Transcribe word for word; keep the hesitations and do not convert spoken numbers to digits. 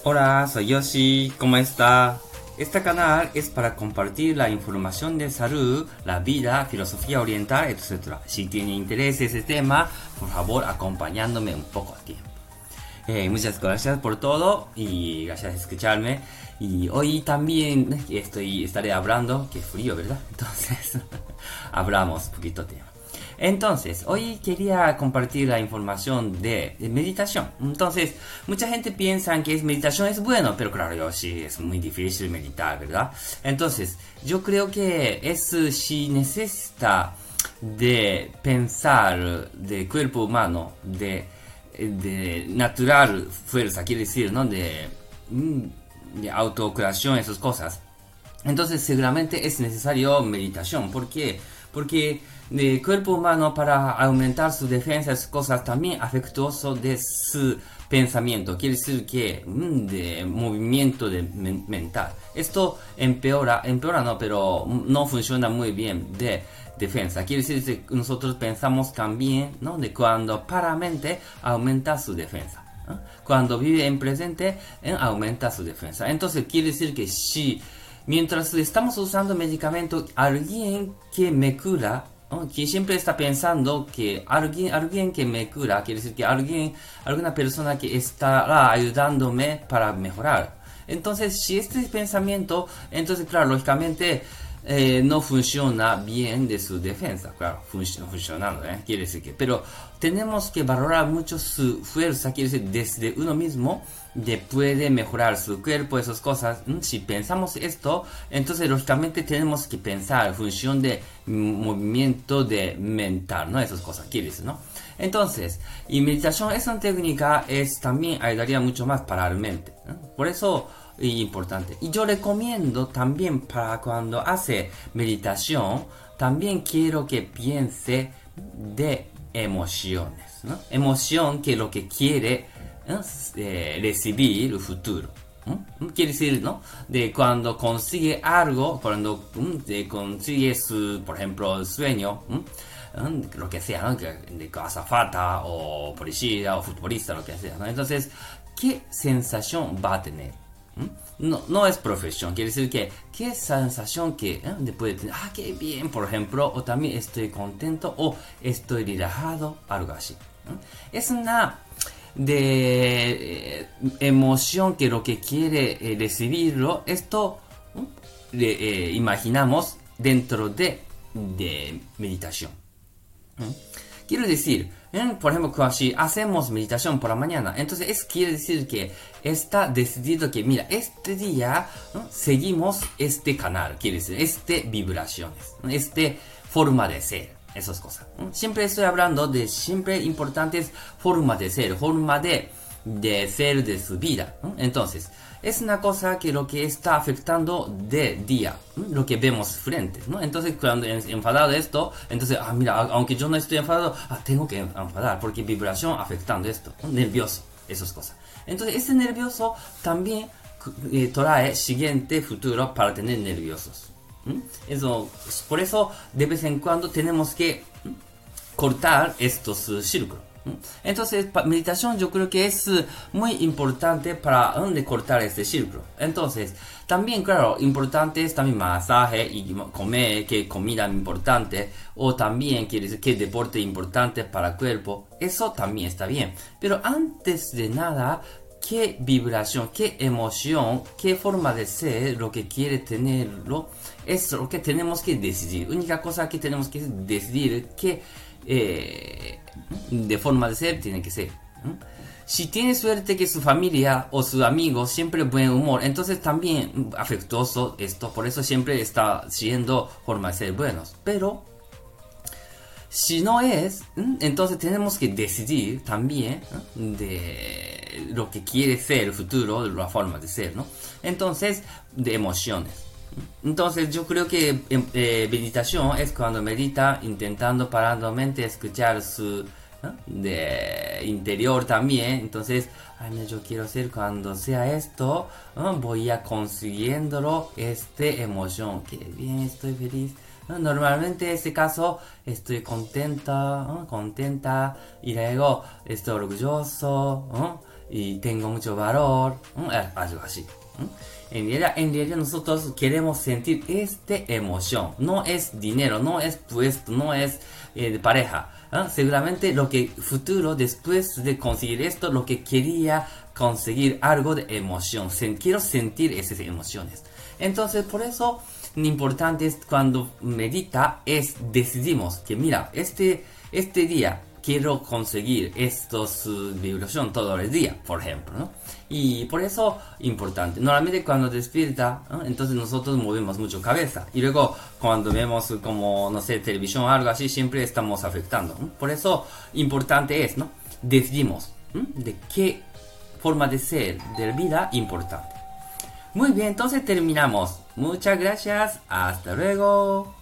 Hola, soy Yoshi, ¿cómo está? Este canal es para compartir la información de salud, la vida, filosofía oriental, etcétera. Si tiene interés en ese tema, por favor, acompañándome un poco a tiempo. Eh, muchas gracias por todo y gracias por escucharme. Y hoy también estoy, estaré hablando, qué frío, ¿verdad? Entonces, hablamos un poquito de tema. Entonces, hoy quería compartir la información de, de meditación. Entonces, mucha gente piensa que es meditación es bueno, pero claro, yo sí, es muy difícil meditar, ¿verdad? Entonces, yo creo que es si necesita de pensar de cuerpo humano, de, de natural fuerza, quiere decir, ¿no? De, de autocreación, esas cosas. Entonces, seguramente es necesario meditación. ¿Por qué? Porque el cuerpo humano, para aumentar su defensa, es cosas también afectuoso de su pensamiento. Quiere decir que mm, de movimiento de men mental. Esto empeora, empeora no, pero no funciona muy bien de defensa. Quiere decir que nosotros pensamos también, ¿no? De cuando para mente aumenta su defensa. ¿Eh? Cuando vive en presente, ¿eh? aumenta su defensa. Entonces quiere decir que si mientras estamos usando medicamento, alguien que me cura, ¿no? Que siempre está pensando que alguien, alguien que me cura, quiere decir que alguien, alguna persona que estará ayudándome para mejorar. Entonces, si este pensamiento, entonces, claro, lógicamente eh, no funciona bien de su defensa, claro, func funcionando, ¿eh? Quiere decir que, pero tenemos que valorar mucho su fuerza, quiere decir, desde uno mismo, de puede mejorar su cuerpo, esas cosas. Si pensamos esto, entonces lógicamente tenemos que pensar en función de movimiento de mental, ¿no? Esas cosas, quiere decir, ¿no? Entonces, y meditación es una técnica, es también ayudaría mucho más para la mente, ¿no? Por eso es importante. Y yo recomiendo también para cuando hace meditación, también quiero que piense de emociones, ¿no? Emoción que lo que quiere eh, recibir el futuro. ¿Mm? Quiere decir, ¿no? De cuando consigue algo, cuando ¿mm? consigue su, por ejemplo, el sueño, ¿Mm? lo que sea, ¿no? De azafata o policía o futbolista, lo que sea, ¿no? Entonces, ¿qué sensación va a tener? No, no es profesión, quiere decir que qué sensación que ¿eh? puede tener, ah, qué bien, por ejemplo, o también estoy contento o estoy relajado, algo así. ¿eh? Es una de eh, emoción que lo que quiere eh, recibirlo, esto ¿eh? le, eh, imaginamos dentro de, de meditación. ¿eh? Quiero decir, ¿eh? por ejemplo, si hacemos meditación por la mañana, entonces eso quiere decir que está decidido que, mira, este día ¿no? seguimos este canal, quiere decir, este vibraciones, este forma de ser, esas cosas. ¿no? Siempre estoy hablando de siempre importantes formas de ser, forma de, de ser de su vida. ¿no? Entonces, es una cosa que lo que está afectando de día, ¿no? lo que vemos frente, ¿no? Entonces, cuando enfadado de esto, entonces, ah, mira, aunque yo no estoy enfadado, ah, tengo que enfadar, porque vibración afectando esto, ¿no? nervioso, esas cosas. Entonces, ese nervioso también eh, trae siguiente futuro para tener nerviosos. ¿no? Eso, por eso, de vez en cuando tenemos que ¿no? cortar estos uh, círculos. Entonces, meditación yo creo que es muy importante para donde cortar este círculo. Entonces, también, claro, importante es también masaje y comer, que comida importante, o también quiere decir que deporte importante para el cuerpo. Eso también está bien. Pero antes de nada, qué vibración, qué emoción, qué forma de ser, lo que quiere tenerlo, es lo que tenemos que decidir. Única cosa que tenemos que decidir que eh, de forma de ser tiene que ser. ¿no? Si tiene suerte que su familia o sus amigos siempre buen humor, entonces también afectuoso esto, por eso siempre está siendo forma de ser buenos. Pero si no es, entonces tenemos que decidir también ¿no? de lo que quiere ser el futuro, de la forma de ser, ¿no? Entonces, de emociones. Entonces yo creo que eh, meditación es cuando medita intentando paralelamente escuchar su ¿no? de interior también. Entonces, ay, mira, yo quiero ser cuando sea esto, ¿no? voy a consiguiéndolo este emoción, que bien, estoy feliz. ¿no? Normalmente en este caso estoy contenta, ¿no? contenta y luego estoy orgulloso, ¿no? y tengo mucho valor, ¿m? Algo así. ¿M? En realidad, en realidad nosotros queremos sentir esta emoción. No es dinero, no es puesto, no es eh, pareja. ¿Eh? Seguramente lo que futuro, después de conseguir esto, lo que quería conseguir algo de emoción. Sen- quiero sentir esas emociones. Entonces, por eso, lo importante es cuando medita, es decidimos que mira, este, este día quiero conseguir estos uh, vibración todo el día, por ejemplo, ¿no? Y por eso, importante. Normalmente cuando despierta, ¿no? Entonces nosotros movemos mucho cabeza. Y luego cuando vemos como, no sé, televisión o algo así, siempre estamos afectando, ¿no? Por eso, importante es, ¿no? Decidimos, ¿no? De qué forma de ser, de vida, importante. Muy bien, entonces terminamos. Muchas gracias. Hasta luego.